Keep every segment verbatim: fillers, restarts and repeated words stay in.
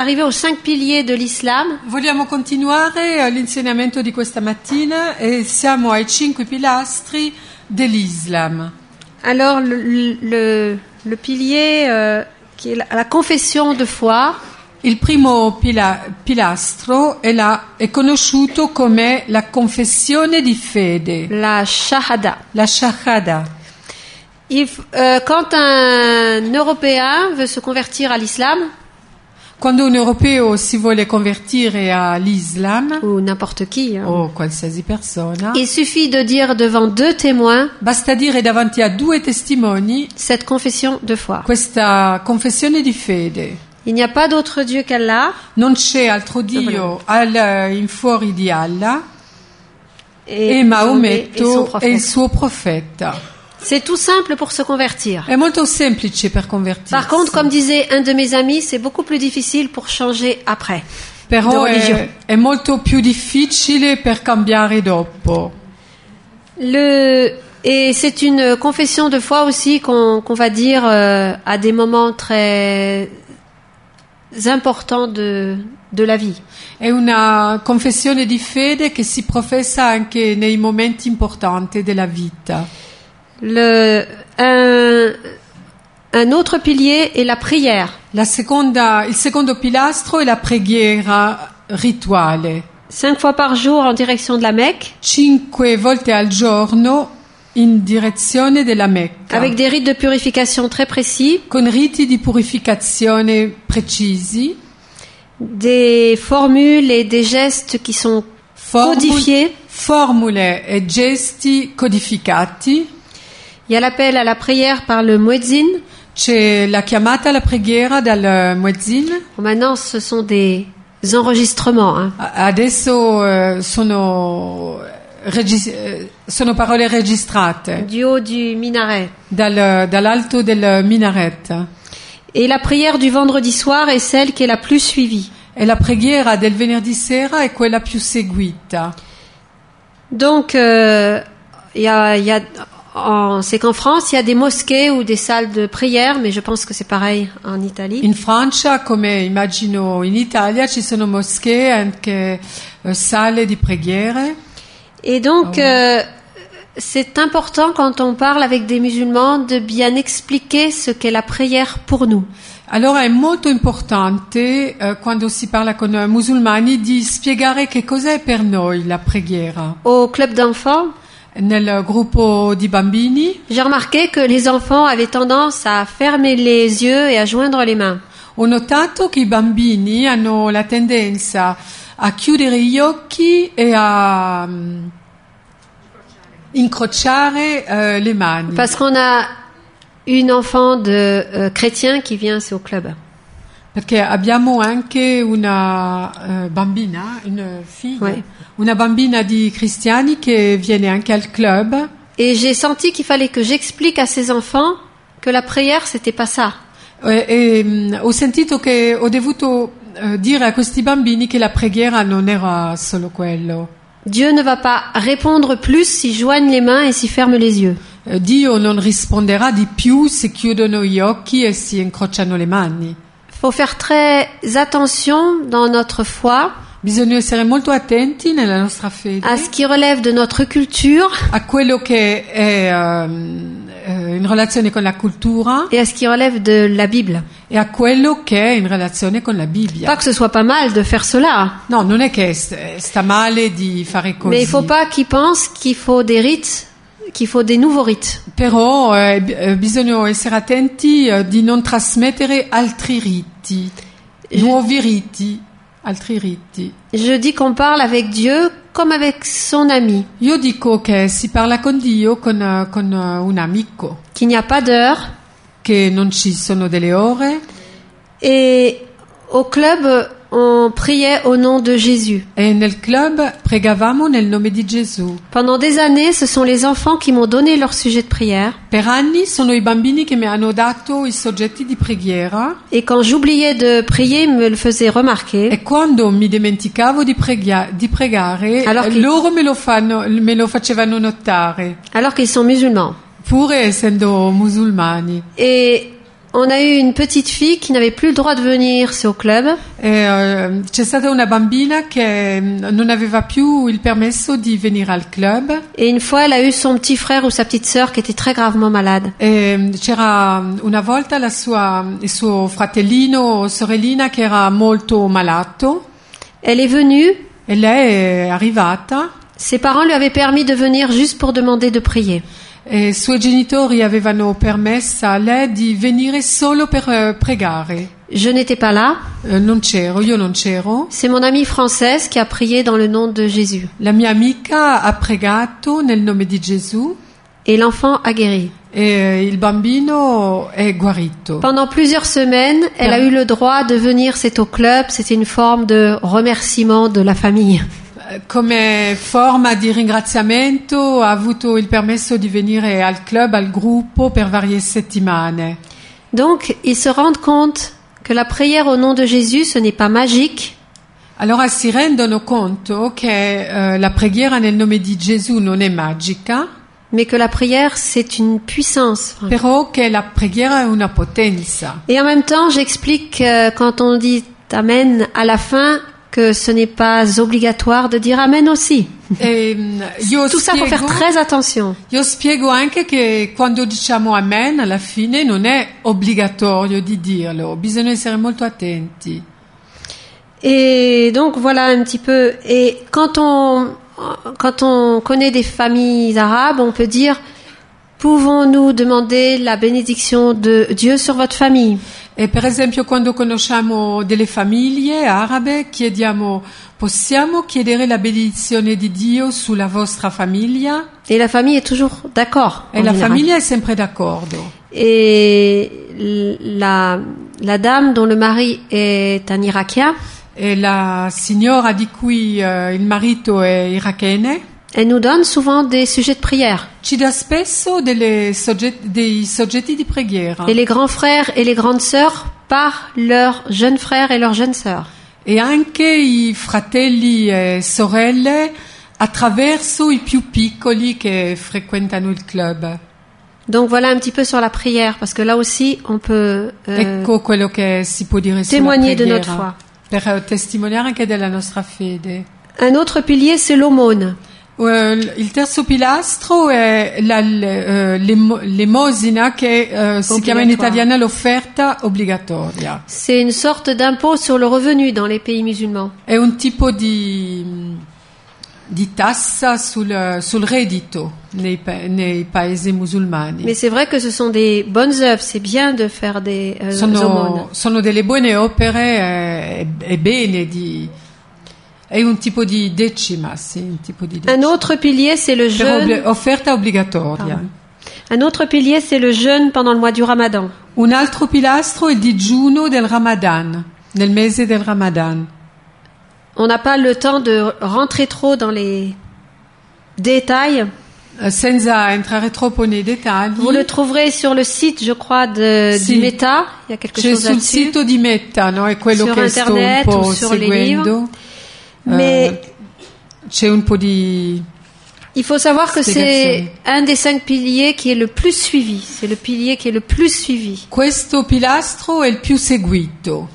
Arrivé aux cinq piliers de l'islam. Vogliamo continuare l'insegnamento di questa mattina e siamo ai cinque pilastri dell'Islam. Alors le, le, le pilier euh, qui est la, la confession de foi. Il primo pila, pilastro è, la, è conosciuto come la confessione di fede. La shahada. La shahada. Il, euh, quand un Européen veut se convertir à l'islam, quando un europeo si vuole convertire all'Islam, ou n'importe qui, hein, o qualsiasi persona, il suffit de dire devant deux témoins, basta dire davanti a due testimoni, cette confession de foi. Questa confessione di fede. Il n'y a pas d'autre Dieu qu'Allah. Non c'è altro Dio al, in fuori di Allah e, e Maometto è il suo profeta. C'est tout simple pour se convertir. È molto semplice per convertirsi. Par contre, comme disait un de mes amis, c'est beaucoup plus difficile pour changer après. Però è, è molto più difficile per cambiare dopo. Le, et c'est une confession de foi aussi qu'on, qu'on va dire euh, à des moments très importants de, de la vie. È una confessione di fede che si professa anche nei momenti importanti della vita. Le, un, un autre pilier est la prière. La seconda, il secondo pilastro è la preghiera rituale. Cinq fois par jour en direction de la Mecque. Cinque volte al giorno in direzione della Mecca. Avec des rites de purification très précis. Con riti di purificazione precisi. Des formules et des gestes qui sont Formul, codifiés. Formule e gesti codificati. Il y a l'appel à la prière par le muezzin. C'è la chiamata alla preghiera dal muezzin. Maintenant, ce sont des enregistrements. Hein. Adesso eh, sono, regis- sono parole registrate. Du haut du minaret. Dal, dall'alto del minaret. Et la prière du vendredi soir est celle qui est la plus suivie. E la preghiera del venerdì sera è quella più seguita. Donc, euh, y a, y a En, c'est qu'en France, il y a des mosquées ou des salles de prière, mais je pense que c'est pareil en Italie. In Francia, come immagino in Italia, ci sono moschee, anche uh, sale di preghiere. Et donc, oh. euh, c'est important quand on parle avec des musulmans de bien expliquer ce qu'est la prière pour nous. Allora è molto importante, uh, quando si parla con uh, musulmani, di spiegare che cos'è per noi la preghiera. Au club d'enfants, nel gruppo di bambini, j'ai remarqué que les enfants avaient tendance à fermer les yeux et à joindre les mains. Ho notato che i bambini hanno la tendenza a chiudere gli occhi e a um, incrociare uh, le mani. Parce qu'on a une enfant de uh, chrétien qui vient au club. Perché abbiamo anche una uh, bambina, una figlia, ouais. una bambina di cristiani che viene anche al club. Et j'ai senti qu'il fallait que j'explique à ces enfants que la prière c'était pas ça. E, e um, ho sentito che ho dovuto uh, dire a questi bambini che la preghiera non era solo quello. Dieu ne va pas répondre plus s'ils joignent les mains et s'ils ferment les yeux. Uh, Dio non risponderà di più se chiudono gli occhi e si incrociano le mani. Il faut faire très attention dans notre foi. Bisogna essere molto attenti nella nostra fede. À ce qui relève de notre culture. A quello che è um, in relazione con la cultura. Et à ce qui relève de la Bible. E a quello che è in relazione con la Bibbia. Pas que ce soit pas mal de faire cela. No, non è che sta male di fare così. Mais il faut pas qu'ils pensent qu'il faut des rites, qu'il faut des nouveaux rites. Però eh, bisogna essere attenti eh, di non trasmettere altri riti, Je... nuovi riti. Altri riti. Je dis qu'on parle avec Dieu comme avec son ami. Io dico che si parla con Dio con, con un amico. Qu'il n'y a pas d'heure. Che non ci sono delle ore. Et au club, on priait au nom de Jésus. E nel club pregavamo nel nome di Gesù. Pendant des années, ce sont les enfants qui m'ont donné leur sujet de prière. Per anni sono i bambini che mi hanno dato i soggetti di preghiera. Et quand j'oubliais de prier, ils me le faisaient remarquer. E quando mi dimenticavo di, preghia- di pregare, alors loro me lo, fanno, me lo facevano notare. Alors qu'ils sont musulmans. Pur essendo musulmani. Et on a eu une petite fille qui n'avait plus le droit de venir au club. E, eh, c'è stata una bambina che non aveva più il permesso di venire al club. Et une fois, elle a eu son petit frère ou sa petite sœur qui était très gravement malade. E c'era una volta la sua, il suo fratellino o sorellina che era molto malato. Elle est venue. E lei è arrivata. Ses parents lui avaient permis de venir juste pour demander de prier. E i suoi genitori avevano permesso a lei di venire solo per uh, pregare. Je n'étais pas là. Uh, non c'ero, io non c'ero. C'est mon amie française qui a prié dans le nom de Jésus. La mia amica ha pregato nel nome di Gesù. Et l'enfant a guéri. E il bambino è guarito. Pendant plusieurs semaines, elle a eu le droit de venir, c'est au club, c'était une forme de remerciement de la famille. Come forma di ringraziamento ha avuto il permesso di venire al club, al gruppo per varie settimane. Donc, ils se rendent compte que la prière au nom de Jésus, ce n'est pas magique. Allora si rendono conto che uh, la preghiera nel nome di Gesù non è magica, mais que la prière, c'est une puissance. Però che la preghiera è una potenza. Et en même temps, j'explique que quand on dit Amen à la fin, que ce n'est pas obligatoire de dire Amen aussi. E, io Tout ça, spiego, faut faire très attention. Io spiego anche che quando diciamo Amen alla fine non è obbligatorio di dirlo, bisogna essere molto attenti. Et donc voilà un petit peu. Et quand on quand on connaît des familles arabes, on peut dire pouvons-nous demander la bénédiction de Dieu sur votre famille? E per esempio quando conosciamo delle famiglie arabe chiediamo possiamo chiedere la benedizione di Dio sulla vostra famiglia? Et la famille est toujours d'accord. E la général. Famiglia è sempre d'accordo. Et la la dame dont le mari est un Irakien, e la signora di cui uh, il marito è irachene, elle nous donne souvent des sujets de prière. Ci dà spesso delle soggetti, dei soggetti di preghiera. Et les grands frères et les grandes sœurs par leurs jeunes frères et leurs jeunes sœurs. E anche i fratelli e sorelle attraverso i più piccoli che frequentano il club. Donc voilà un petit peu sur la prière, parce que là aussi on peut euh, ecco quello che si può dire témoigner sulla de preghiera, notre foi. Per testimoniare anche della nostra fede. Un autre pilier, c'est l'aumône. Uh, il terzo pilastro è la, uh, l'emosina che uh, si chiama in italiano l'offerta obbligatoria. C'est une sorte d'impôt sur le revenu dans les pays musulmans. È un tipo di, di tassa sul, sul reddito nei, nei paesi musulmani. Mais c'est vrai que ce sont des bonnes œuvres, c'est bien de faire des euh, sono, aumônes. Sono delle buone opere, è, è bene di... È un tipo di decima, sì, un tipo di decima. Un autre pilier, c'est le jeûne. Offerta obbligatoria. Pardon. Un autre pilier, c'est le jeûne pendant le mois du Ramadan. Un altro pilastro è il digiuno del Ramadan, nel mese del Ramadan. On n'a pas le temps de rentrer trop dans les détails. Senza entrare troppo nei dettagli. Vous le trouverez sur le site, je crois, de, sì. di Meta. Il y a quelque C'è chose là-dessus. sul sito di Meta, no? È quello sur che Internet sto un po' ou sur seguendo. les livres. Mais uh, c'è un po' di il faut savoir que c'est un des cinq piliers qui est le plus suivi. C'est le pilier qui est le plus suivi. Questo pilastro è il più seguito.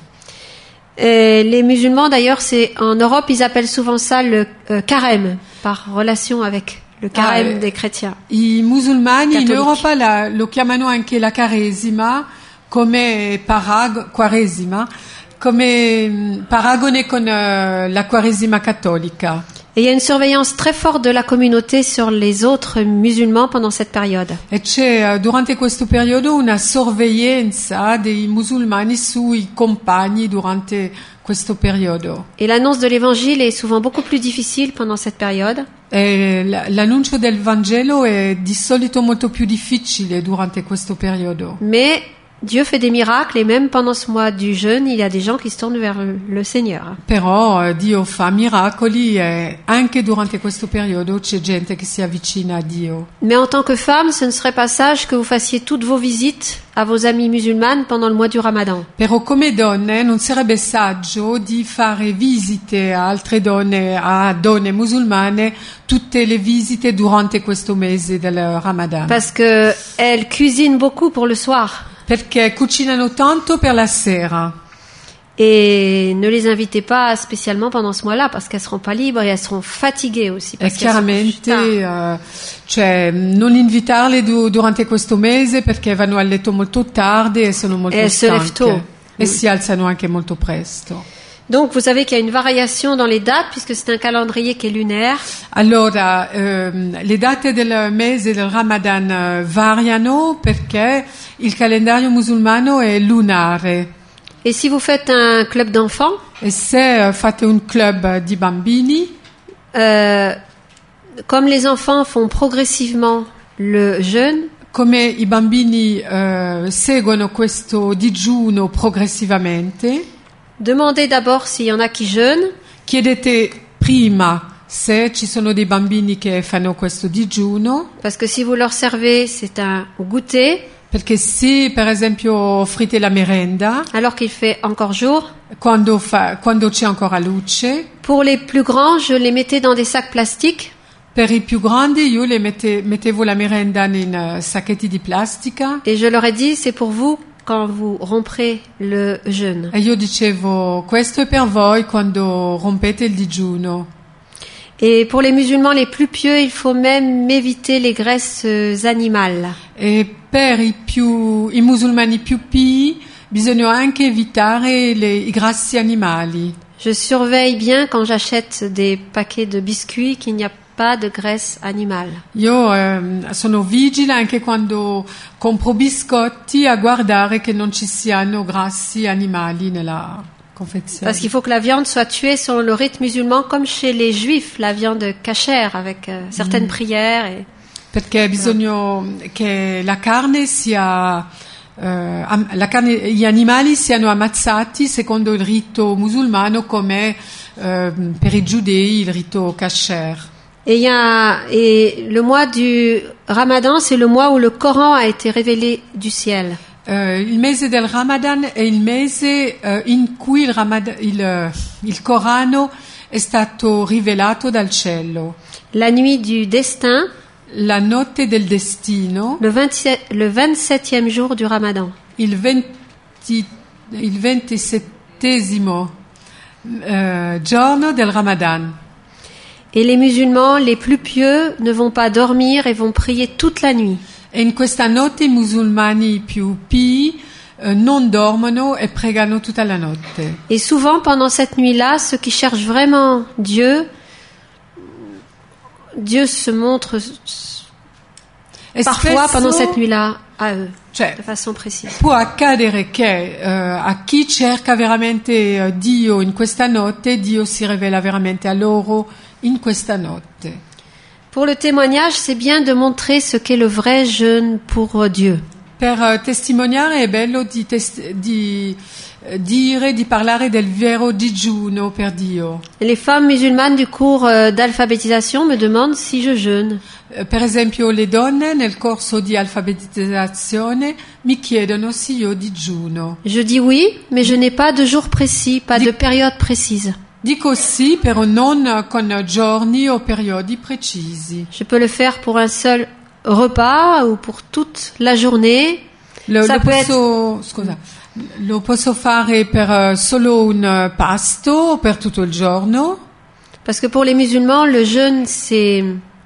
Et les musulmans, d'ailleurs, c'est en Europe, ils appellent souvent ça le euh, carême, par relation avec le carême ah, des chrétiens. I musulmani cattolici. In Europa la, lo chiamano anche la Quaresima, come parag- Quaresima, come paragone con uh, la Quaresima cattolica. Et il y a une surveillance très forte de la communauté sur les autres musulmans pendant cette période. E c'è durante questo periodo una sorveglianza dei musulmani sui compagni durante questo periodo. Et l'annonce de l'évangile est souvent beaucoup plus difficile pendant cette période. E l'annuncio del Vangelo è di solito molto più difficile durante questo periodo. Mais Dieu fait des miracles et même pendant ce mois du jeûne, il y a des gens qui se tournent vers le Seigneur. Però Dio fa miracoli e anche durante questo periodo c'è gente che si avvicina a Dio. Mais en tant que femme, ce ne serait pas sage que vous fassiez toutes vos visites à vos amies musulmanes pendant le mois du Ramadan. Però come donne non sarebbe saggio di fare visite a altre donne, a donne musulmane, tutte le visite durante questo mese del Ramadan. Parce que elles cuisinent beaucoup pour le soir. perché cucinano tanto per la sera. Et ne les invitez pas spécialement pendant ce mois-là parce qu'elles seront pas libres et elles seront fatiguées aussi. E Parce qu'elles sont chiaramente, tard. eh, cioè, non invitarle du- durante questo mese perché vanno a letto molto tardi e sono molto E se lèvent stanche. tôt. E si alzano anche molto presto. Donc vous savez qu'il y a une variation dans les dates puisque c'est un calendrier qui est lunaire. Allora, ehm, le date del mese del Ramadan eh, variano perché il calendario musulmano è lunare. Et si vous faites un club d'enfants, E se eh, fate un club di bambini, euh, comme les enfants font progressivement le jeûne, come i bambini eh, seguono questo digiuno progressivamente, demandez d'abord s'il y en a qui jeûnent. chiedete prima se ci sono dei bambini che fanno questo digiuno, Parce que si vous leur servez, c'est un goûter, perché se per esempio offrite la merenda, alors qu'il fait encore jour. quando, fa- quando c'è ancora luce, Pour les plus grands, je les mettais dans des sacs plastiques. per i più grandi io le mette- mettevo la merenda in eh, sacchetti di plastica Et je leur ai dit, c'est pour vous quand vous romprez le jeûne. e io dicevo questo è per voi quando rompete il digiuno. Et pour les musulmans les plus pieux, il faut même éviter les graisses euh, animales. E per i, più, i musulmani più pii bisogna anche evitare le- i grassi animali. Je surveille bien quand j'achète des paquets de biscuits qu'il n'y a pas de graisse animale. Io ehm, sono vigile anche quando compro biscotti a guardare che non ci siano grassi animali nella confezione. Parce qu'il faut que la viande soit tuée selon le rite musulman, comme chez les juifs, la viande cachère, avec euh, certaines prières. Et... Perché bisogna che la carne sia eh, am- la carne, gli animali siano ammazzati secondo il rito musulmano come eh, per i giudei il rito kasher. Et, il y a, et le mois du Ramadan, c'est le mois où le Coran a été révélé du ciel. Eh, il mese del Ramadan è il mese eh, in cui il, Ramad- il, eh, il Corano è stato rivelato dal cielo. La nuit du destin, La notte del destino, le, vingt-sept, le vingt-septième jour du Ramadan. il, venti, il ventisettesimo eh, giorno del Ramadan. Et les musulmans les plus pieux ne vont pas dormir et vont prier toute la nuit. E in questa notte i musulmani più pii eh, non dormono e pregano tutta la notte. Et souvent, pendant cette nuit-là, ceux qui cherchent vraiment Dieu, Dieu se montre E parfois spesso, pendant cette nuit-là à eux, cioè, de façon précise. può accadere che eh, a chi cerca veramente eh, Dio in questa notte, Dio si rivela veramente a loro in questa notte. Pour le témoignage, c'est bien de montrer ce qu'est le vrai jeûne pour Dieu. Per eh, testimoniare è bello di, tes- di eh, dire, di parlare del vero digiuno per Dio. Les femmes musulmanes du cours euh, d'alphabétisation me demandent si je jeûne. Eh, Per esempio le donne nel corso di alfabetizzazione mi chiedono se io digiuno. Je dis oui, mais je n'ai pas de jour précis, pas de période précise. Dico sì, però non con giorni o periodi precisi. Je peux le faire pour un seul repas ou pour toute la journée. Lo, Ça lo peut posso, scusa, lo posso fare per eh, solo un eh, pasto o per tutto il giorno? Parce que pour les musulmans, le jeûne, c'est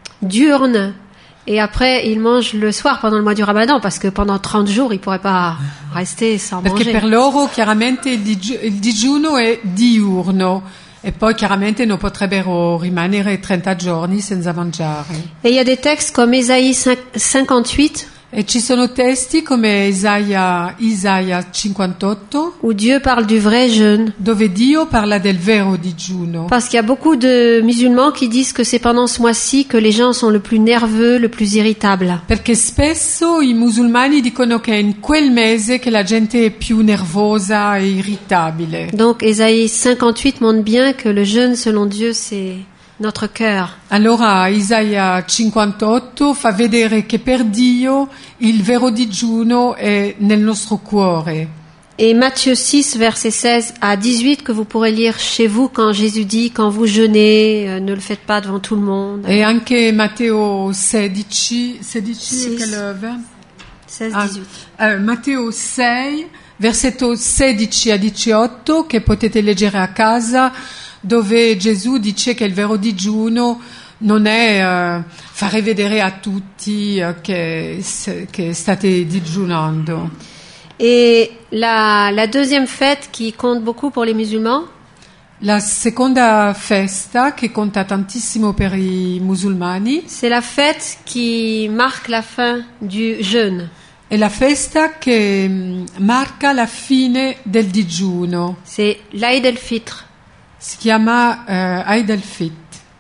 diurne. Et après, ils mangent le soir pendant le mois du Ramadan, parce que pendant trente jours, ils pourraient pas rester sans Perché manger. per loro chiaramente il, digi- il digiuno è diurno e poi chiaramente non potrebbero rimanere trenta giorni senza mangiare. Et il y a des textes comme Ésaïe cinquante-huit, E ci sono testi come Isaia, Isaia cinquantotto, où Dieu parle du vrai jeûne. dove Dio parla del vero digiuno. Parce qu'il y a beaucoup de musulmans qui disent que c'est pendant ce mois-ci que les gens sont le plus nerveux, le plus irritables. Perché spesso i musulmani dicono che è in quel mese che la gente è più nervosa e irritabile. Donc Ésaïe cinquante-huit montre bien que le jeûne, selon Dieu, c'est notre cœur. Allora Isaia cinquantotto fa vedere che per Dio il vero digiuno è nel nostro cuore. Et Matthieu six, versets seize à dix-huit, que vous pourrez lire chez vous quand Jésus dit, quand vous jeûnez, euh, ne le faites pas devant tout le monde. E anche Matteo sedici, sedici Six. è che lo- seize Ah, diciotto. eh, Matteo sei, versetto sedici a diciotto, che potete leggere a casa, dove Gesù dice che il vero digiuno non è eh, fare vedere a tutti eh, che, se- che state digiunando. Et la, la deuxième fête qui compte beaucoup pour les musulmans, La seconda festa, che conta tantissimo per i musulmani, c'est la fête qui marque la fin du jeûne. è la festa che mm, marca la fine del digiuno. C'est l'Aïd el-Fitr. Si chiama eh, Eid al-Fitr.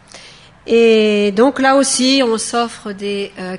Et donc là aussi, on s'offre des euh,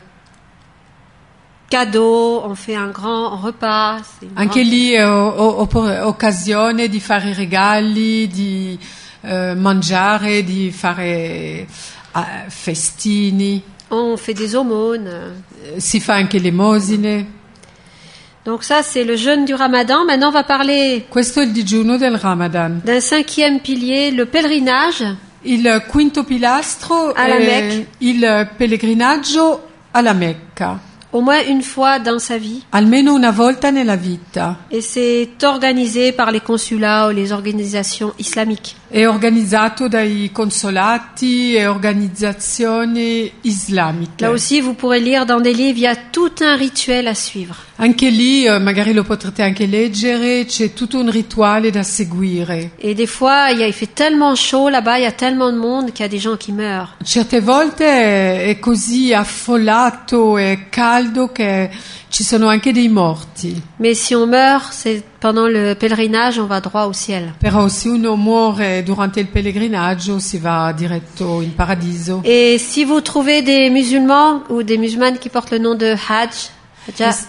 cadeaux, on fait un grand repas. c'est une Anche grande- lì è o- o- oppo- occasione di fare regali, di eh, mangiare, di fare ah, festini, On fait des aumônes. eh, si fa anche l'emosine. Donc ça, c'est le jeûne du Ramadan. Maintenant, on va parler Questo è il digiuno del Ramadan. d'un cinquième pilier, le pèlerinage. Il quinto pilastro Alla è Mecca. il pellegrinaggio alla Mecca, Au moins une fois dans sa vie. almeno una volta nella vita. Et c'est organisé par les consulats ou les organisations islamiques. È organizzato dai consolati e organizzazioni islamiche. Là aussi, vous pourrez lire dans des livres, il y a tout un rituel à suivre. Anche lì, eh, magari lo potrete anche leggere, c'è tutto un rituale da seguire. Et des fois, il, y a, il fait tellement chaud là-bas, il y a tellement de monde qu'il y a des gens qui meurent. Certe volte è è così affollato e caldo che ci sono anche dei morti. Mais si on meurt, c'est pendant le pèlerinage, on va droit au ciel. Però se uno muore durante il pellegrinaggio si va diretto in paradiso. Et si vous trouvez des musulmans ou des musulmanes qui portent le nom de Hajj, Hajja,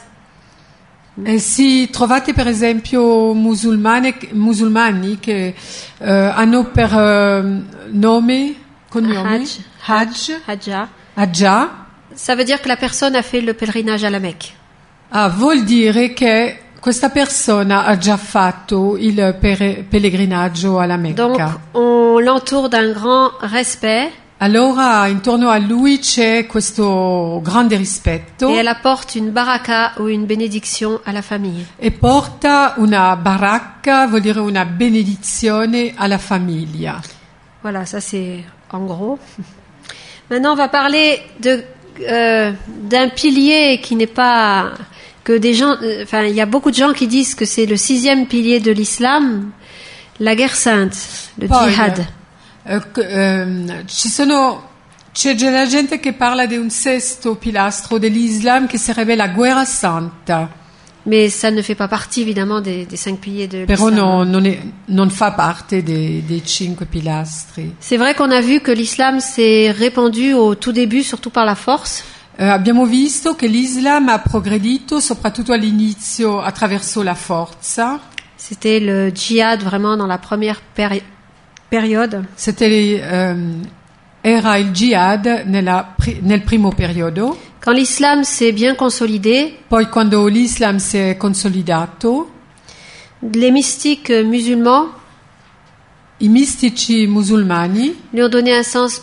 E se trovate per esempio musulmane, musulmani che eh, hanno per eh, nome, cognome, Hajj. Hajj, Hajja, Hajja, ça veut dire que la personne a fait le pèlerinage à la Mecque. ah, vuol dire che questa persona ha già fatto il pere- pellegrinaggio alla Donc, Mecca. on l'entoure d'un grand respect Allora intorno a lui c'è questo grande rispetto et elle apporte une baraka ou une bénédiction à la famille. e porta una baracca, vuol dire una benedizione alla famiglia. Voilà, ça c'est en gros. Maintenant, on va parler de euh, d'un pilier qui n'est pas que des gens. euh, Enfin, il y a beaucoup de gens qui disent que c'est le sixième pilier de l'islam, la guerre sainte, le Poi, djihad. eh, c- ehm, ci sono, c'è già la gente che parla di un sesto pilastro dell'Islam che sarebbe la guerra santa, Mais ça ne fait pas partie évidemment des, des cinq piliers de però l'islam. no- non, è- non fa parte dei, dei cinque pilastri. C'est vrai qu'on a vu que l'islam s'est répandu au tout début, surtout par la force. Eh, abbiamo visto che l'Islam ha progredito soprattutto all'inizio attraverso la forza. C'était le djihad vraiment dans la première péri- période. C'était, ehm, era il jihad nella pri- nel primo periodo. Quand l'islam s'est bien consolidé, Poi quando l'Islam si è consolidato, les mystiques musulmans i mistici musulmani lui ont donné un sens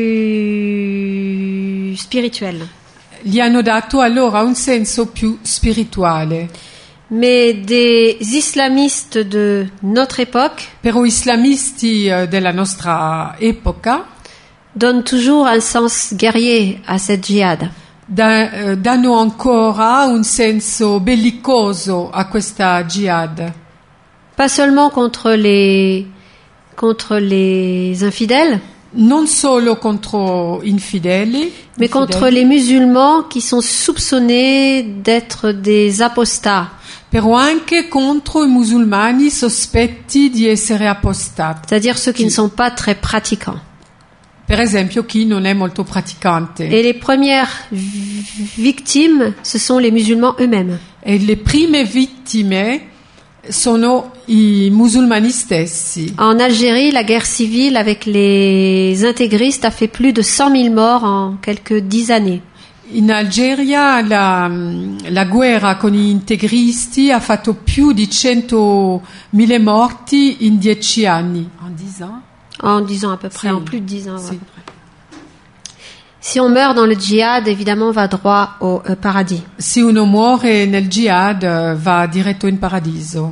plus spirituel. gli hanno dato allora un senso più spirituale. Mais des islamistes de notre époque Però islamisti eh, della nostra epoca donnent toujours un sens guerrier à cette djihad. da- eh, danno ancora un senso bellicoso a questa jihad. Pas seulement contre les, contre les infidèles, Non solo contro infideli, mais contre infideli, les musulmans qui sont soupçonnés d'être des apostats, però anche contro i musulmani sospetti di essere apostati. c'est-à-dire ceux qui ne sont pas très pratiquants. Per esempio chi non è molto praticante. Et les premières vi- victimes, ce sont les musulmans eux-mêmes. E le prime vittime sono i musulmani stessi. En Algérie, la guerre civile avec les intégristes a fait plus de cent mille morts en quelques dix années. In Algeria la, la guerra con gli integristi ha fatto più di centomila morti in dieci anni. En dix ans? En dix ans à peu près, Si. en plus de dix ans. ouais, à Si. peu près. Si on meurt dans le djihad, évidemment, on va droit au euh, paradis. Se uno muore nel jihad eh, va diretto in paradiso.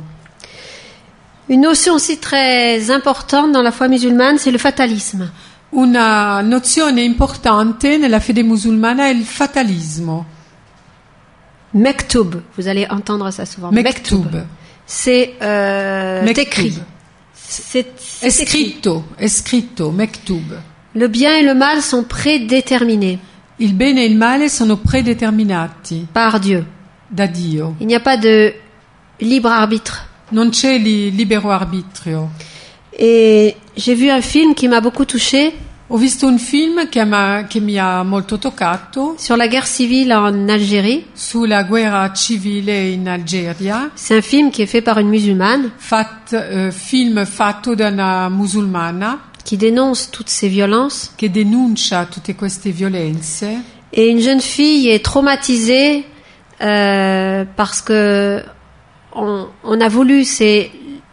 Une notion aussi très importante dans la foi musulmane, c'est le fatalisme. Una nozione importante nella fede musulmana è il fatalismo. Mektub, vous allez entendre ça souvent. Mektub. C'est euh, Mektub. écrit. C'est È c'est écrit. scritto, è scritto, mektub. Le bien et le mal sont prédéterminés Il bene e il male sono predeterminati par Dieu. da Dio. Il n'y a pas de libre arbitre. Non c'è li- libero arbitrio. Et j'ai vu un film qui m'a beaucoup touchée Ho visto un film che, ma- che mi ha molto toccato sur la guerre civile en Algérie. sulla guerra civile in Algeria, C'est un film qui est fait par une musulmane fat- eh, film fatto da una musulmana qui dénonce toutes ces violences. che denuncia tutte queste violenze Et une jeune fille est traumatisée euh, parce que on, on a voulu c'est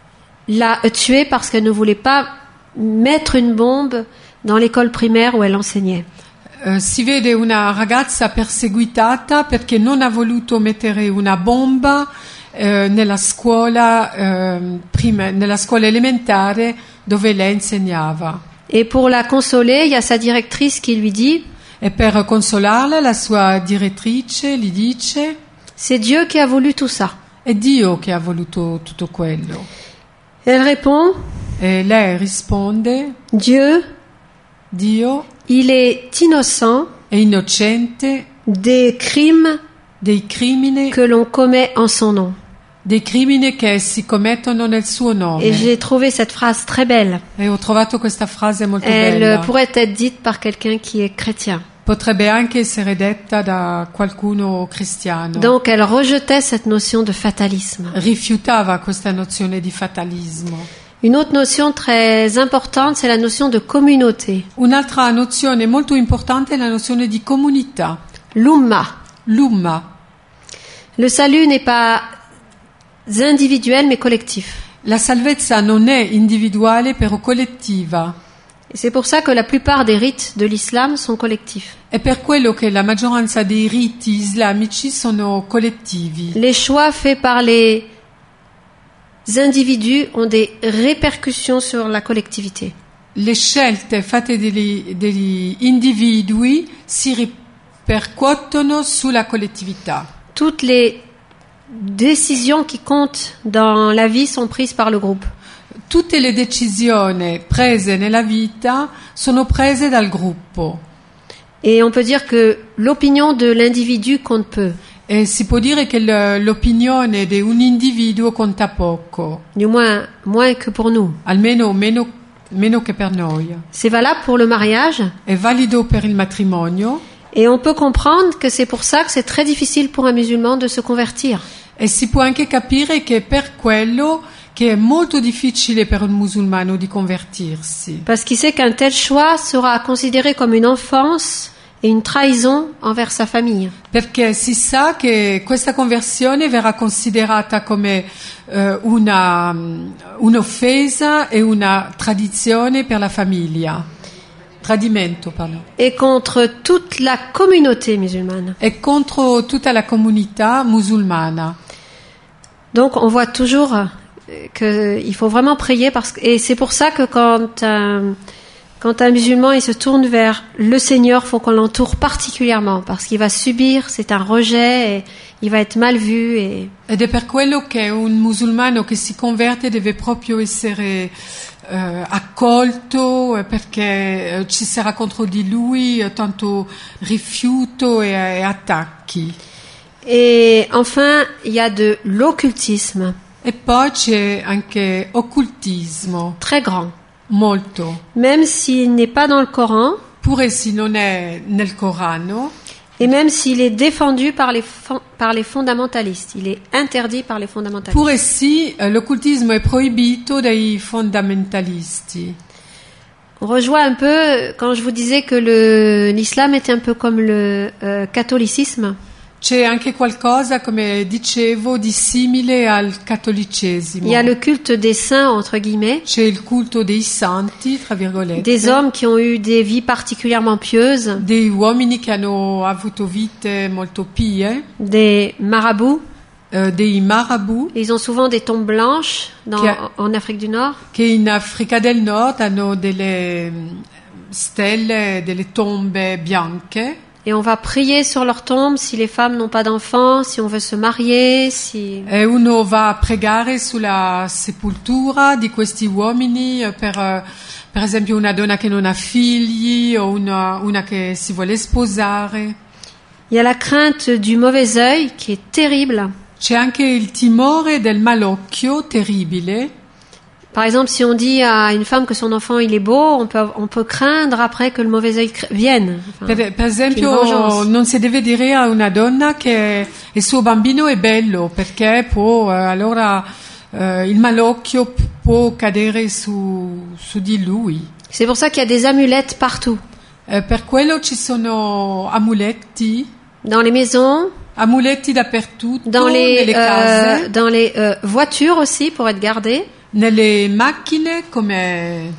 la tuer parce qu'elle ne voulait pas mettre une bombe dans l'école primaire où elle enseignait. Eh, si vede una ragazza perseguitata perché non ha voluto mettere una bomba eh, nella scuola eh, prima- nella scuola elementare dove lei insegnava. Et pour la consoler, il y a sa directrice qui lui dit E per consolarla la sua direttrice gli dice: c'est Dieu qui a voulu tout ça. è Dio che ha voluto tutto quello. Elle répond E lei risponde: Dieu, Dio il est innocent è innocente des crimes dei crimini, que l'on commet en son nom. dei crimini che si commettono nel suo nome. Et j'ai trouvé cette phrase très belle. E ho trovato questa frase molto Elle bella. pourrait être dite par quelqu'un qui est chrétien. Potrebbe anche essere detta da qualcuno cristiano. Donc elle rejetait cette notion de fatalisme. Rifiutava questa nozione di fatalismo. Une autre notion très importante, c'est la notion de communauté. Un'altra nozione molto importante è la nozione di comunità, L'umma. l'umma. Le salut n'est pas individuel mais collectif. La salvezza non è individuale però collettiva. Et c'est pour ça que la plupart des rites de l'islam sont collectifs. È per quello che la maggioranza dei riti islamici sono collettivi. Les choix faits par les individus ont des répercussions sur la collectivité. Le scelte fatte degli, degli individui si ripercuotono sulla collettività. Toutes les décisions qui comptent dans la vie sont prises par le groupe. Tutte le decisioni prese nella vita sono prese dal gruppo. Et on peut dire que l'opinion de l'individu compte peu. E si può dire che l- l'opinione di un individuo conta poco, Du moins, moins que pour nous. almeno meno, meno che per noi. C'est valable pour le mariage. È valido per il matrimonio Et on peut comprendre que c'est pour ça que c'est très difficile pour un musulman de se convertir. e si può anche capire che è per quello che è molto difficile per un musulmano di convertirsi, Parce qu'il sait qu'un tel choix sera considéré comme une offense et une trahison envers sa famille. perché si sa che questa conversione verrà considerata come eh, una, un'offesa e una tradizione per la famiglia, tradimento, parlo. Et contre toute la communauté musulmane. E contro tutta la comunità musulmana. Donc on voit toujours euh, qu'il faut vraiment prier parce que, et c'est pour ça que quand un, quand un musulman il se tourne vers le Seigneur, faut qu'on l'entoure particulièrement parce qu'il va subir, c'est un rejet, et il va être mal vu et Ed è per quello che un musulmano che si converte deve proprio essere eh, accolto, eh, perché eh, ci sarà contro di lui eh, tanto rifiuto e, e attacchi. et enfin il y a de l'occultisme E poi c'è anche occultismo, très grand, molto. même s'il n'est pas dans le Coran Pure se non è nel Corano, et même s'il est défendu par les fon- par les fondamentalistes, il est interdit par les fondamentalistes. pure sì, eh, l'occultismo è proibito dai fondamentalisti. On rejoint un peu quand je vous disais que le l'islam était un peu comme le euh, catholicisme. C'è anche qualcosa, come dicevo, di simile al cattolicesimo. Il y a le culte des saints, entre guillemets, C'è il culto dei santi, tra virgolette, des hommes qui ont eu des vies particulièrement pieuses, dei uomini che hanno avuto vite molto pie, des marabouts. eh, dei marabouts, Ils ont souvent des tombes blanches dans, Qui a- en Afrique du Nord. che in Africa del Nord hanno delle mm, stelle, delle tombe bianche. Et on va prier sur leurs tombes si les femmes n'ont pas d'enfants, si on veut se marier, si... E uno va a pregare sulla sepoltura di questi uomini eh, per, eh, per esempio, una donna che non ha figli o una, una che si vuole sposare. Il y a la crainte du mauvais œil qui est terrible. C'è anche il timore del malocchio terribile. Par exemple, si on dit à une femme que son enfant il est beau, on peut, on peut craindre après que le mauvais œil cr- vienne. Enfin, Per, per vengeance. esempio, non si deve dire a una donna che il suo bambino è bello, perché può, eh, allora eh, il malocchio p- può cadere su, su di lui. c'est pour ça qu'il y a des amulettes partout. Eh, per quello ci sono amuletti, Dans les maisons, amuletti dappertutto, dans les, nelle euh, case, dans les euh, voitures aussi pour être gardées, nelle macchine come eh,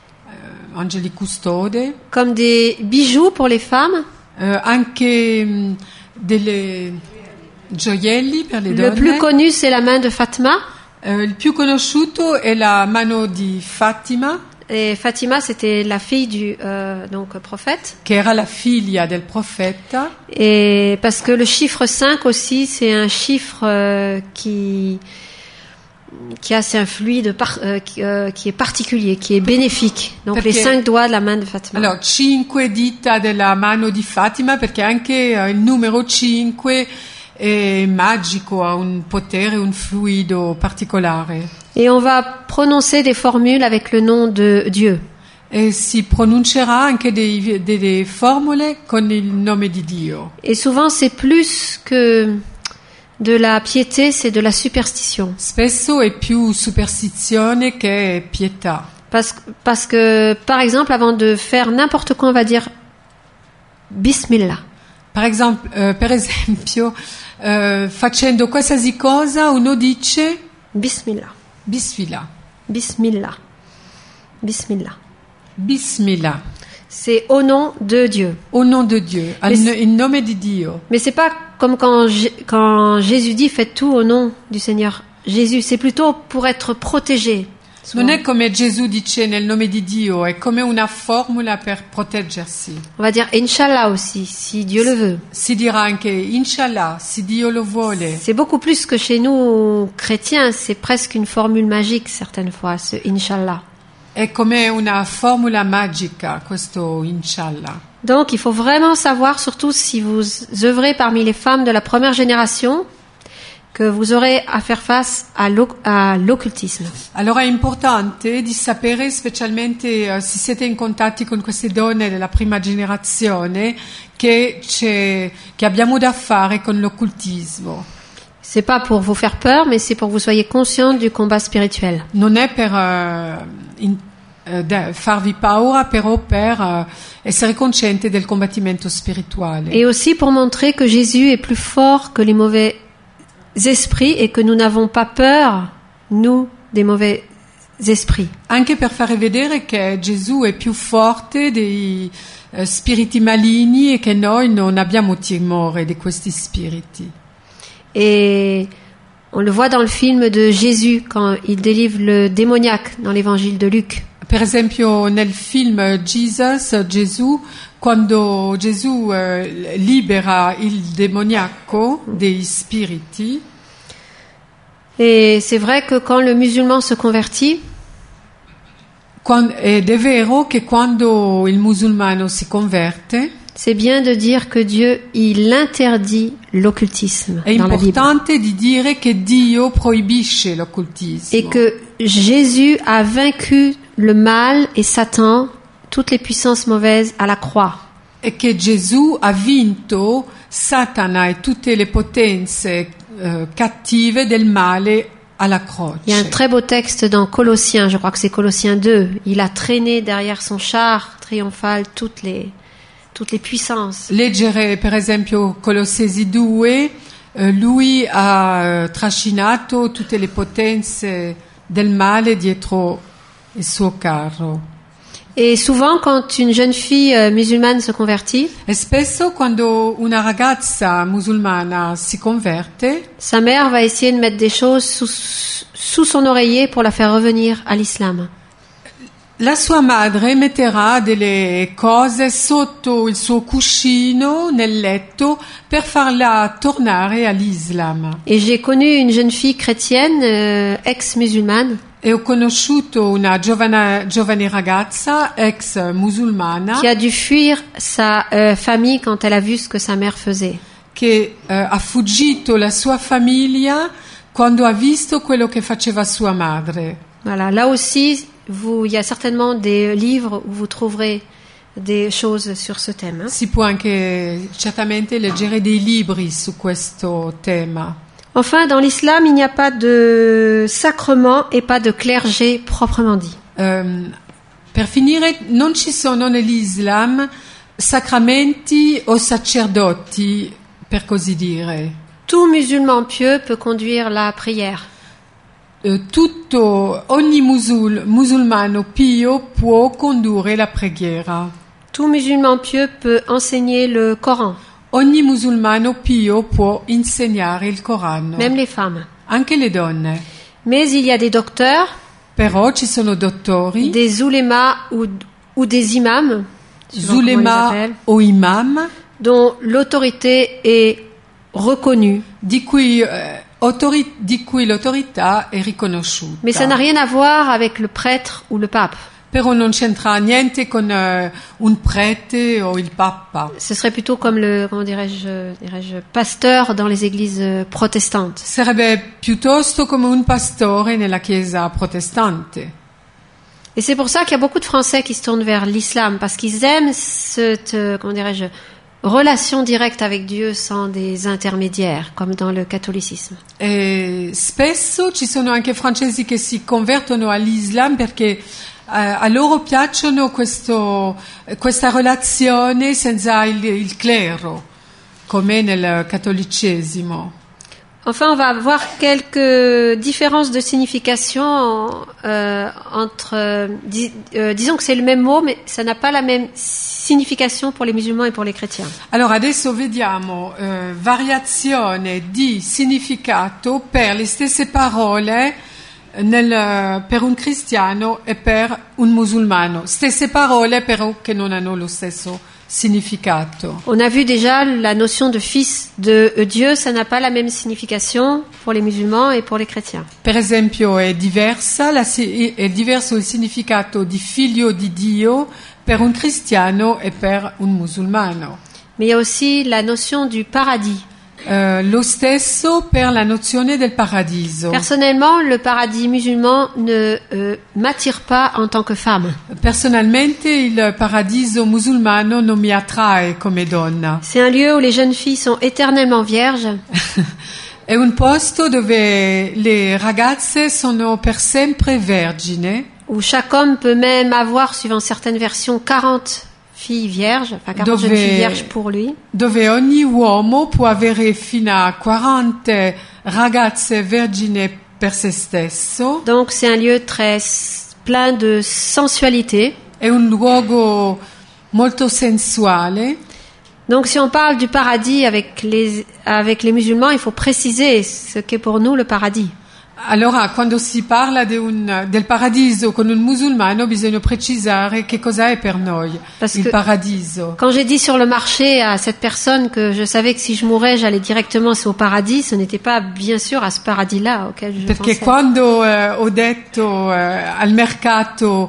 angeli custode, comme des bijoux pour les femmes. eh, anche mh, delle gioielli per le Le donne. plus connu, c'est la main de Fatima. Eh, il più conosciuto è la mano di Fatima, Et Fatima, c'était la fille du euh, donc prophète. che era la figlia del profeta, Et parce que le chiffre cinq aussi, c'est un chiffre euh, qui qui a c'est un fluide par- euh, qui, euh, qui est particulier, qui est bénéfique. Donc Perché- les cinq doigts de la main de Fatima. allora cinque dita della mano di Fatima, perché anche eh, il numero cinque è magico, ha un potere, un fluido particolare. Et on va prononcer des formules avec le nom de Dieu. E si pronuncerà anche dei- delle formule con il nome di Dio. Et souvent, c'est plus que de la piété, c'est de la superstition. Spesso è più superstizione che pietà. Parce, parce que, par exemple, avant de faire n'importe quoi, on va dire Bismillah. Per, esempio, eh, per esempio, eh, facendo qualsiasi cosa uno dice Bismillah. Bismillah. Bismillah. Bismillah. Bismillah. C'est au nom de Dieu. Au nom de Dieu, al- Mais- in nome di Dio. Mais c'est pas comme quand, J- quand Jésus dit faites tout au nom du Seigneur Jésus. C'est plutôt pour être protégé. souvent. Non è come Gesù dice nel nome di Dio, è come una formula per proteggersi. On va dire Inch'Allah aussi, si Dieu le veut. Si dirà anche Inshallah, se Dio lo vuole. C'est beaucoup plus que chez nous chrétiens. C'est presque une formule magique certaines fois, ce Inch'Allah. È come una formula magica, questo Inshallah. Donc il faut vraiment savoir, surtout si vous œuvrez parmi les femmes de la première génération, que vous aurez à faire face à l'oc- à l'occultisme. Allora è importante di sapere, specialmente eh, se siete in contatti con queste donne della prima generazione, che, c'è, che abbiamo da fare con l'occultismo. C'est pas pour vous faire peur, mais c'est pour que vous soyez conscient du combat spirituel. Non è per eh, in- eh, da- farvi paura, però per eh, essere cosciente del combattimento spirituale. Et aussi pour montrer que Jésus est plus fort que les mauvais esprits et que nous n'avons pas peur, nous, des mauvais esprits. Anche per fare vedere che Gesù è più forte dei eh, spiriti maligni e che noi non abbiamo timore di questi spiriti. Et on le voit dans le film de Jésus quand il délivre le démoniaque dans l'évangile de Luc. Per esempio nel film Jesus, Gesù, quando Gesù eh, libera il demoniaco dei spiriti, Et c'est vrai que quand le musulman se convertit, quan- ed è vero che quando il musulmano si converte c'est bien de dire que Dieu, il interdit l'occultisme è dans la Bible. importante di dire che Dio proibisce l'occultismo. Et que Jésus a vaincu le mal et Satan, toutes les puissances mauvaises à la croix. E che Gesù ha vinto Satana e tutte le potenze eh, cattive del male alla croce. Il y a un très beau texte dans Colossiens, je crois que c'est Colossiens deux. Il a traîné derrière son char triomphal toutes les toutes les puissances. Leggere per esempio Colossesi due, eh, lui ha eh, trascinato tutte le potenze del male dietro il suo carro. Et souvent, quand une jeune fille euh, musulmane se convertit, E spesso quando una ragazza musulmana si converte, sa mère va essayer de mettre des choses sous, sous son oreiller pour la faire revenir à l'islam. la sua madre metterà delle cose sotto il suo cuscino nel letto per farla tornare all'Islam. Et j'ai connu une jeune fille chrétienne, euh, ex-musulmane, E ho conosciuto una giovane, giovane ragazza ex musulmana qui a dû fuir sa euh, famille quand elle a vu ce que sa mère faisait. che eh, ha fuggito la sua famiglia quando ha visto quello che faceva sua madre. Voilà, là aussi, vous, il y a certainement des livres où vous trouverez des choses sur ce thème. Hein. Si può anche certamente leggere dei libri su questo tema. Enfin, dans l'islam, il n'y a pas de sacrement et pas de clergé proprement dit. Um, per finire, non ci sono nell'Islam sacramenti o sacerdoti, per così dire. Tout musulman pieux peut conduire la prière. Uh, tutto, ogni musul, musulmano pio può condurre la preghiera. Tout musulman pieux peut enseigner le Coran, Ogni musulmano pio può insegnare il Corano, même les femmes. anche le donne. Mais il y a des docteurs, Però ci sono dottori, des oulémas ou, ou des imams, suivant comment on les zulema appelle, o imam, dont l'autorité est reconnue. di cui, eh, autori- di cui l'autorità è riconosciuta. Mais ça n'a rien à voir avec le prêtre ou le pape. Però non c'entra niente con eh, un prete o il papa. Ce serait plutôt comme le, comment dirais-je, dirais-je, pasteur dans les églises euh, protestantes. Sarebbe piuttosto come un pastore nella chiesa protestante. Et c'est pour ça qu'il y a beaucoup de Français qui se tournent vers l'islam, parce qu'ils aiment cette, euh, comment dirais-je, relation directe avec Dieu sans des intermédiaires, comme dans le catholicisme. E spesso ci sono anche francesi che si convertono all'Islam perché eh, a loro piacciono questo, questa relazione senza il, il clero, come nel cattolicesimo. Enfin, on va voir quelques différences de signification euh, entre, euh, dis- euh, disons que c'est le même mot, mais ça n'a pas la même signification pour les musulmans et pour les chrétiens. Allora adesso vediamo eh, variazione di significato per le stesse parole nel, per un cristiano e per un musulmano. Stesse parole però che non hanno lo stesso significato. On a vu déjà la notion de fils de Dieu, ça n'a pas la même signification pour les musulmans et pour les chrétiens. Per esempio è diversa, la, si- è diverso il significato di figlio di Dio per un cristiano e per un musulmano. Mais il y a aussi la notion du paradis. Eh, lo stesso per la nozione del paradiso. Personnellement, le paradis musulman ne euh, m'attire pas en tant que femme. Personalmente il paradiso musulmano non mi attrae come donna. C'est un lieu où les jeunes filles sont éternellement vierges, È un posto dove le ragazze sono per sempre vergine, où chaque homme peut même avoir, suivant certaines versions, quarante filles vierges, enfin quarante Dove- jeunes filles vierges pour lui. dove ogni uomo può avere fino a quaranta ragazze vergine per se stesso. Donc c'est un lieu très s- plein de sensualité. È un luogo molto sensuale. Donc si on parle du paradis avec les, avec les musulmans, il faut préciser ce qu'est pour nous le paradis. Allora, quando si parla di un- del paradiso con un musulmano, bisogna precisare che cosa è per noi Parce il que- paradiso. Quand j'ai dit sur le marché à cette personne que je savais que si je mourais, j'allais directement au paradis, ce n'était pas bien sûr à ce paradis-là auquel je Perché pensais. quando eh, ho detto eh, al mercato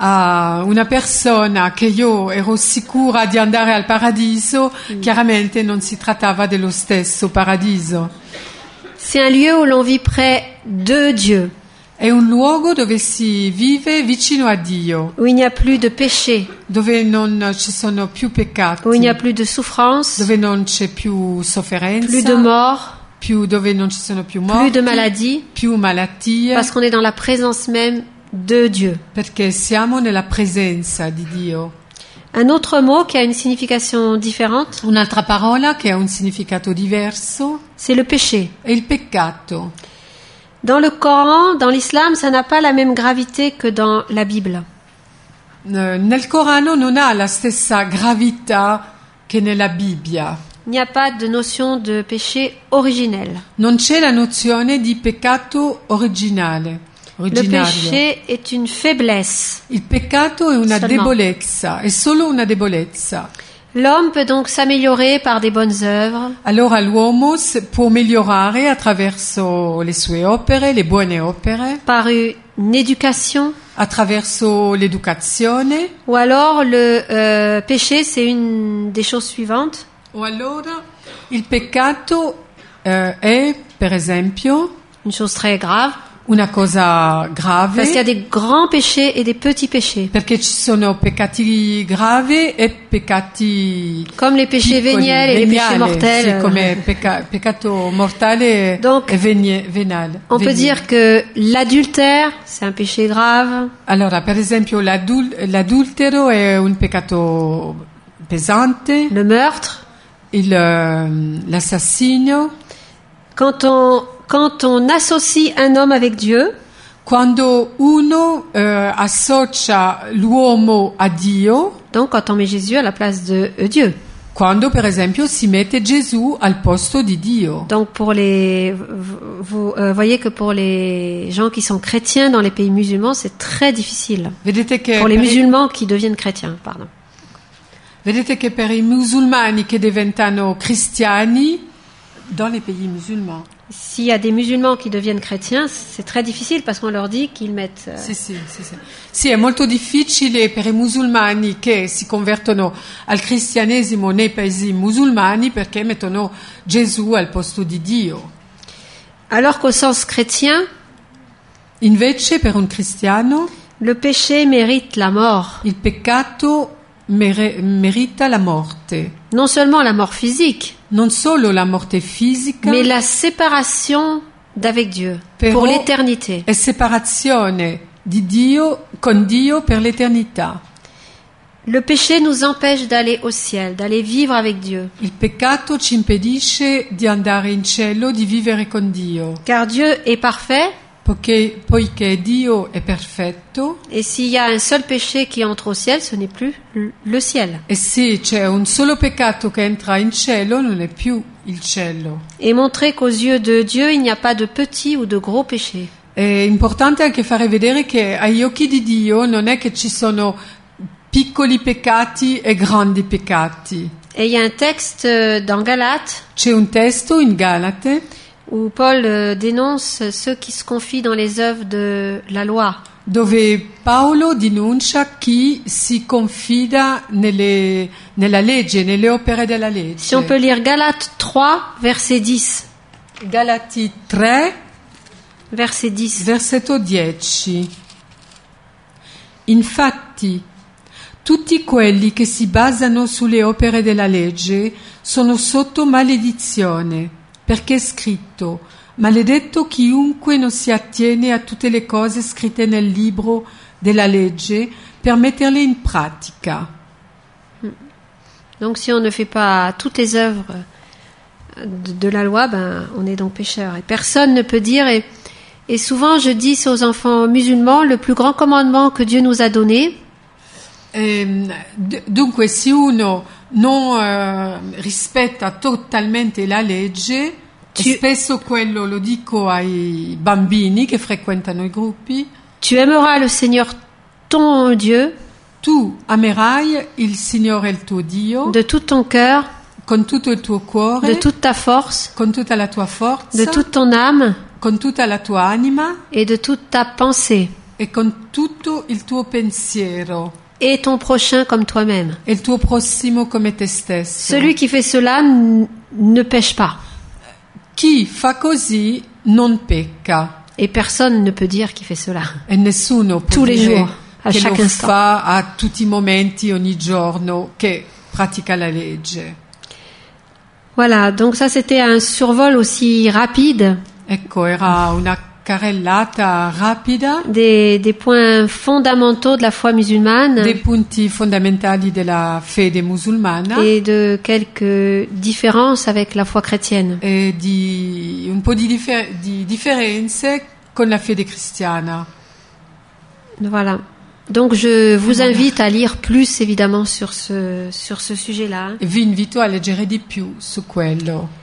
a una persona che io ero sicura di andare al paradiso, chiaramente non si trattava dello stesso paradiso. C'est un lieu où l'on vit près de Dieu, È un luogo dove si vive vicino a Dio, où il n'y a plus de péché, dove non ci sono più peccati, où il n'y a plus de souffrance, dove non c'è più sofferenza, plus de mort, più dove non ci sono più plus morti, de maladie, più malattie, parce qu'on est dans la présence même de Dieu. perché siamo nella presenza di Dio. Un autre mot qui a une signification différente, Un'altra parola che ha un significato diverso c'est le péché. è il peccato. Dans le Coran, dans l'islam, ça n'a pas la même gravité que dans la Bible. Eh, Nel Corano non ha la stessa gravità che nella Bibbia. Il n'y a pas de notion de péché originel. Non c'è la nozione di peccato originale, Le originario. péché est une faiblesse. Il peccato è una Seulement. debolezza, è solo una debolezza. L'homme peut donc s'améliorer par des bonnes œuvres, Allora l'uomo s- può migliorare attraverso le sue opere, le buone opere, par une éducation, attraverso l'educazione, ou alors le euh, péché, c'est une des choses suivantes. o allora il peccato eh, è, per esempio, Une chose très grave, una cosa grave, parce qu'il y a des grands péchés et des petits péchés. perché ci sono peccati gravi e peccati Comme les péchés piccoli, véniels et les péchés veniali, mortels. sì, come pecca- peccato mortale Donc, e venie- venale. On peut veniale. dire que l'adultère, c'est un péché grave. Allora, per esempio, l'adul- l'adultero è un peccato pesante, Le meurtre. il, ehm, l'assassinio. Quand on, quand on associe un homme avec Dieu, Quando uno eh, associa l'uomo a Dio, donc quand on met Jésus à la place de euh, Dieu. quando per esempio si mette Gesù al posto di Dio. Donc pour les, vous, vous euh, voyez que pour les gens qui sont chrétiens dans les pays musulmans, c'est très difficile. Vedete che, Pour les per, i- musulmans qui deviennent chrétiens, pardon. vedete che per i musulmani che diventano cristiani, dans les pays musulmans, S'il y a des musulmans qui deviennent chrétiens, c'est très difficile parce qu'on leur dit qu'ils mettent... euh, Sì, sì, sì, sì. Sì, è molto difficile per i musulmani che si convertono al cristianesimo nei paesi musulmani perché mettono Gesù al posto di Dio. Alors qu'au sens chrétien, Invece per un cristiano le péché mérite la mort. il peccato mere- merita la morte. Non seulement la mort physique, Non solo la morte fisica, mais la séparation d'avec Dieu Però- pour l'éternité. e separazione di Dio con Dio per l'eternità. Le péché nous empêche d'aller au ciel, d'aller vivre avec Dieu. Il peccato ci impedisce di andare in cielo, di vivere con Dio. Car Dieu est parfait, Poiché, poiché Dio è perfetto et s'il y a un seul péché qui entre au ciel, ce n'est plus l- le ciel. e se c'è un solo peccato che entra in cielo non è più il cielo. Et montrer qu'aux yeux de Dieu, il n'y a pas de petits ou de gros péchés. È importante anche fare vedere che agli occhi di Dio non è che ci sono piccoli peccati e grandi peccati. Et il y a un texte euh, dans Galates C'è un testo in Galate où Paul euh, dénonce ceux qui se confient dans les œuvres de la loi. dove Paolo denuncia chi si confida nelle, nella legge, nelle opere della legge. Si on peut lire Galates trois, verset dix. Galati tre, Verset dix. versetto dieci. Infatti, tutti quelli che si basano sulle opere della legge sono sotto maledizione, perché è scritto: maledetto chiunque non si attiene a tutte le cose scritte nel libro della legge per metterle in pratica. Donc si on ne fait pas toutes les œuvres de, de la loi, ben on est donc pécheur. Et personne ne peut dire, et, et souvent je dis aux enfants musulmans, le plus grand commandement que Dieu nous a donné, Ehm, d- dunque, se uno non eh, rispetta totalmente la legge, Ci- e spesso quello lo dico ai bambini che frequentano i gruppi, tu aimeras le Seigneur ton Dieu tu amerai il Signore il tuo Dio de tout ton cœur, con tutto il tuo cuore, de toute ta force, con tutta la tua forza, de toute ton âme con tutta la tua anima et de toute ta pensée, e con tutto il tuo pensiero et ton prochain comme toi-même. e il tuo prossimo come te stesso. Celui qui fait cela n- ne pêche pas. Chi fa così non pecca. Et personne ne peut dire qu'il fait cela. E nessuno può Tous les dire jours, à che chaque lo instant. fa a tutti i momenti, ogni giorno, che pratica la legge. Voilà, donc ça c'était un survol aussi rapide Ecco, era una carrellata rapida des, des points fondamentaux de la foi musulmane dei punti fondamentali della fede musulmana et de quelques différences avec la foi chrétienne. e di un po' di, differ- di differenze con la fede cristiana. Voilà. Donc je vous invite à lire plus évidemment sur ce, sur ce sujet-là. E vi invito a leggere di più su quello.